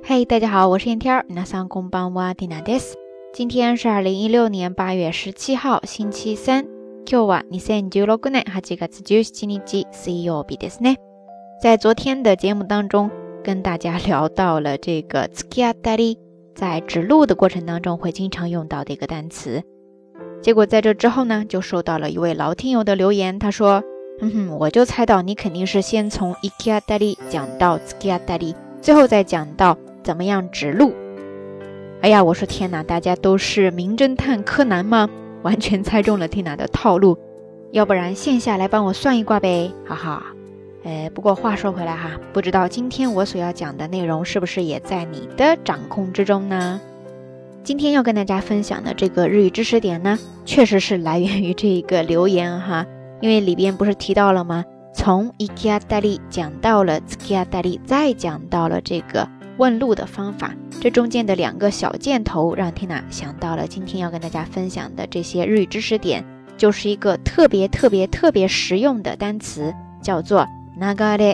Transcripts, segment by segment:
嘿，大家好，我是燕天儿。皆さんこんばんは、ティナです。今天是2016年8月17号，星期三。今日は2016年8月17日、水曜日ですね。在昨天的节目当中，跟大家聊到了这个突き当たり，在指路的过程当中会经常用到的一个单词。结果在这之后呢，就收到了一位老听友的留言，他说，我就猜到你肯定是先从行き当たり讲到突き当たり，最后再讲到怎么样指路。哎呀，我说天哪，大家都是名侦探柯南吗？完全猜中了 Tina 的套路，要不然线下来帮我算一卦呗，哈哈。不过话说回来哈，不知道今天我所要讲的内容是不是也在你的掌控之中呢？今天要跟大家分享的这个日语知识点呢，确实是来源于这一个留言哈，因为里边不是提到了吗？从行き当たり讲到了突き当たり，再讲到了这个问路的方法，这中间的2个小箭头让 Tina 想到了今天要跟大家分享的这些日语知识点，就是一个特别实用的单词，叫做流れ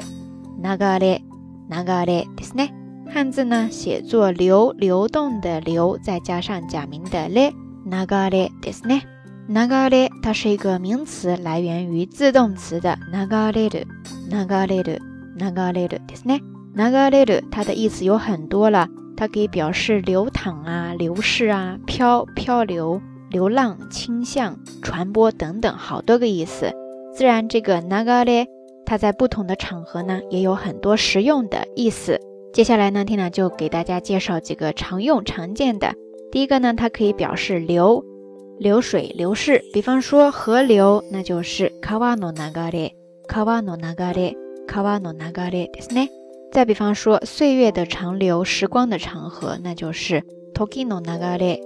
ですね。汉字呢写作流动的流，再加上假名的れ，流れですね。流れ它是一个名词，来源于自动词的流れるですね。流れる它的意思有很多了，它可以表示流淌啊、流逝啊、漂流、流浪、倾向、传播等等好多个意思。自然这个流れ它在不同的场合呢也有很多实用的意思。接下来呢 Tina 就给大家介绍几个常用常见的。第一个呢，它可以表示流水、流逝，比方说河流，那就是川の流れですね。再比方说岁月的长流、时光的长河，那就是時の流れ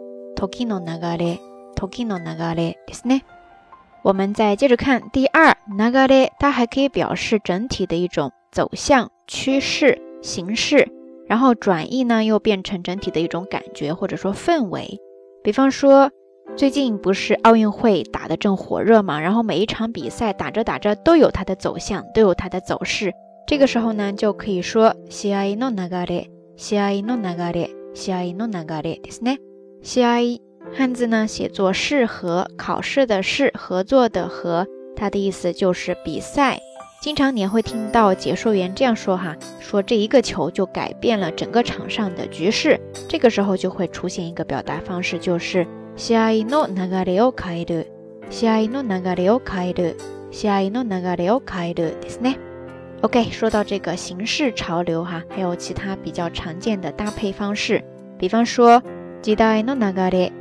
ですね。我们再接着看第二，流れ它还可以表示整体的一种走向、趋势、形式，然后转译呢又变成整体的一种感觉或者说氛围。比方说最近不是奥运会打得正火熱嘛，然后每一场比赛打着都有它的走向，都有它的走势，这个时候呢就可以说試合の流れですね。試合汉字呢写作试合，考试的试，合作的合，它的意思就是比赛。经常你也会听到解说员这样说哈，说这一个球就改变了整个场上的局势，这个时候就会出现一个表达方式，就是試合の流れを変えるですね。OK， 说到这个形式潮流哈，还有其他比较常见的搭配方式，比方说時代の流れ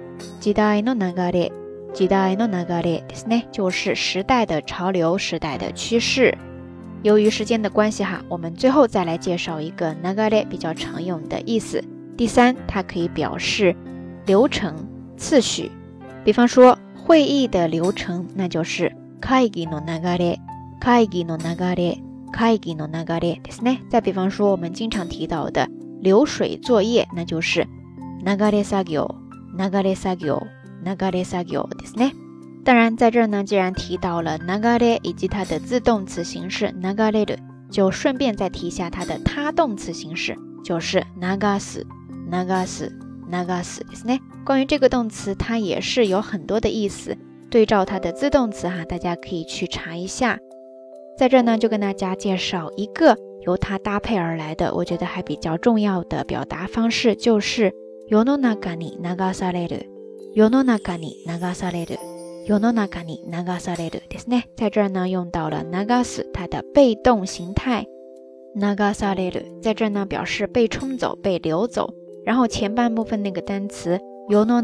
ですね，就是时代的潮流、时代的趋势。由于时间的关系哈，我们最后再来介绍一个流れ比较常用的意思。第三，它可以表示流程、次序，比方说会议的流程，那就是会議の流れですね。再比方说我们经常提到的流水作业，那就是流れ作業ですね。当然在这儿呢，既然提到了流れ以及它的自动词形式流れる，就顺便再提一下它的他动词形式，就是流すですね。关于这个动词，它也是有很多的意思，对照它的自动词哈，大家可以去查一下。在这呢，就跟大家介绍一个由它搭配而来的，我觉得还比较重要的表达方式，就是世の中に流されるですね。在这儿呢，用到了流す它的被动形态，流される在这儿呢表示被冲走、被流走。然后前半部分那个单词世の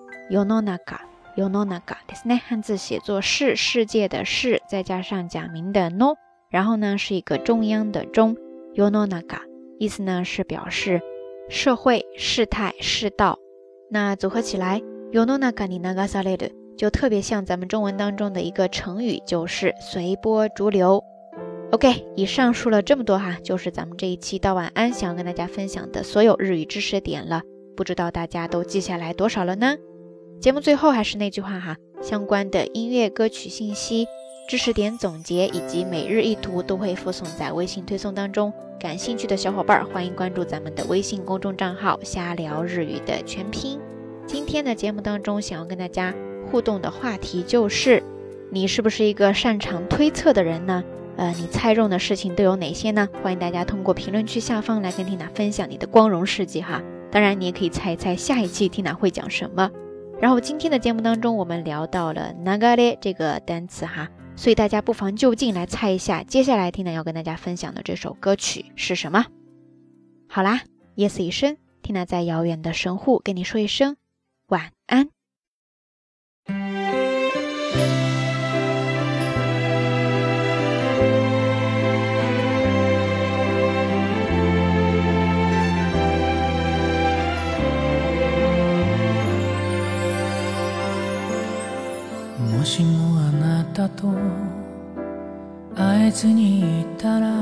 中ですね，汉字写作是，世界的是，再加上假名的 no， 然后呢是一个中央的中，世の中意思呢是表示社会、事态、世道。那组合起来世の中に流される就特别像咱们中文当中的一个成语，就是随波逐流。OK， 以上说了这么多哈，就是咱们这一期到晚安想要跟大家分享的所有日语知识点了，不知道大家都记下来多少了呢？节目最后还是那句话哈，相关的音乐歌曲信息知识点总结以及每日一图都会附送在微信推送当中，感兴趣的小伙伴欢迎关注咱们的微信公众账号瞎聊日语的全拼。今天的节目当中想要跟大家互动的话题就是，你是不是一个擅长推测的人呢？你猜中的事情都有哪些呢？欢迎大家通过评论区下方来跟 Tina 分享你的光荣事迹哈。当然你也可以猜一猜下一期 Tina 会讲什么。然后今天的节目当中我们聊到了流れ这个单词哈，所以大家不妨就近来猜一下接下来 Tina 要跟大家分享的这首歌曲是什么。好啦，夜色已深， Tina 在遥远的神户跟你说一声晚安。 もしもあなたと会えずにいたら、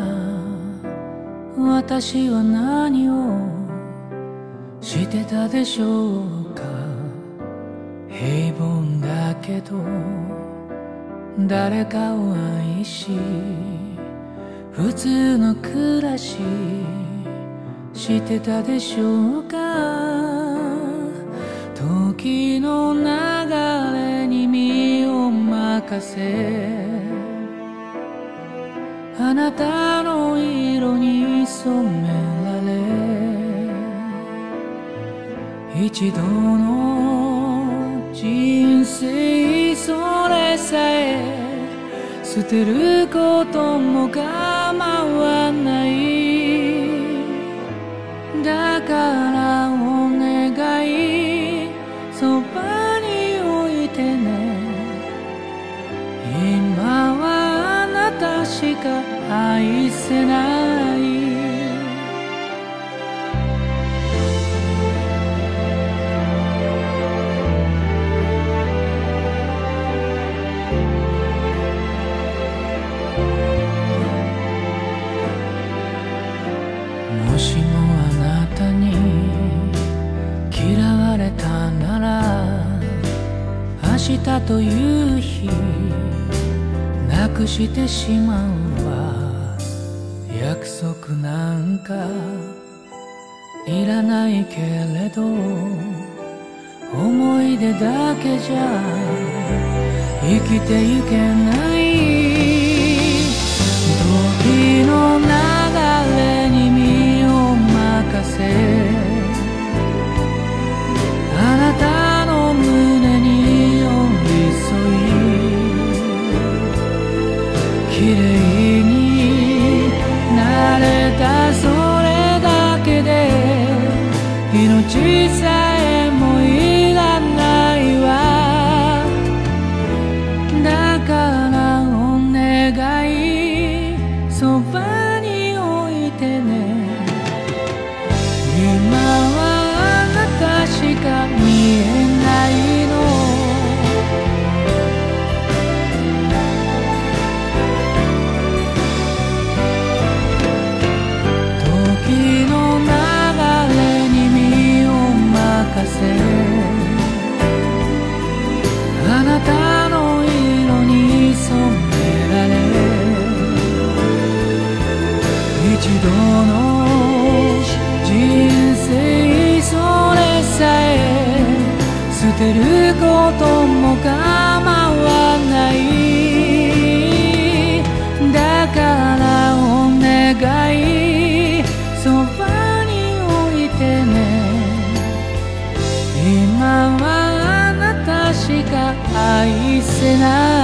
私は何をしてたでしょうか。平凡だけど誰かを愛し、普通の暮らししてたでしょうか。時の流れに身を任せ、あなたの色に染められ、一度の人生それさえ捨てることも構わない。だからお願い、そばに置いてね。今はあなたしか愛せない。もしもあなたに嫌われたなら、明日という日なくしてしまうわ。約束なんかいらないけれど、思い出だけじゃ生きてゆけない。時の流れに身を任せ、あなたの胸に寄り添い、綺麗になれたそれだけで命さえもいらないわ。だからお願い、そばに置いてね。今はあなたしか見えないの。時の流れに身を任せ、あなたの色に染められ、一度の人生それさえ捨てることも構わない。だからお願い、そばに置いてね。今はあなたしか愛せない。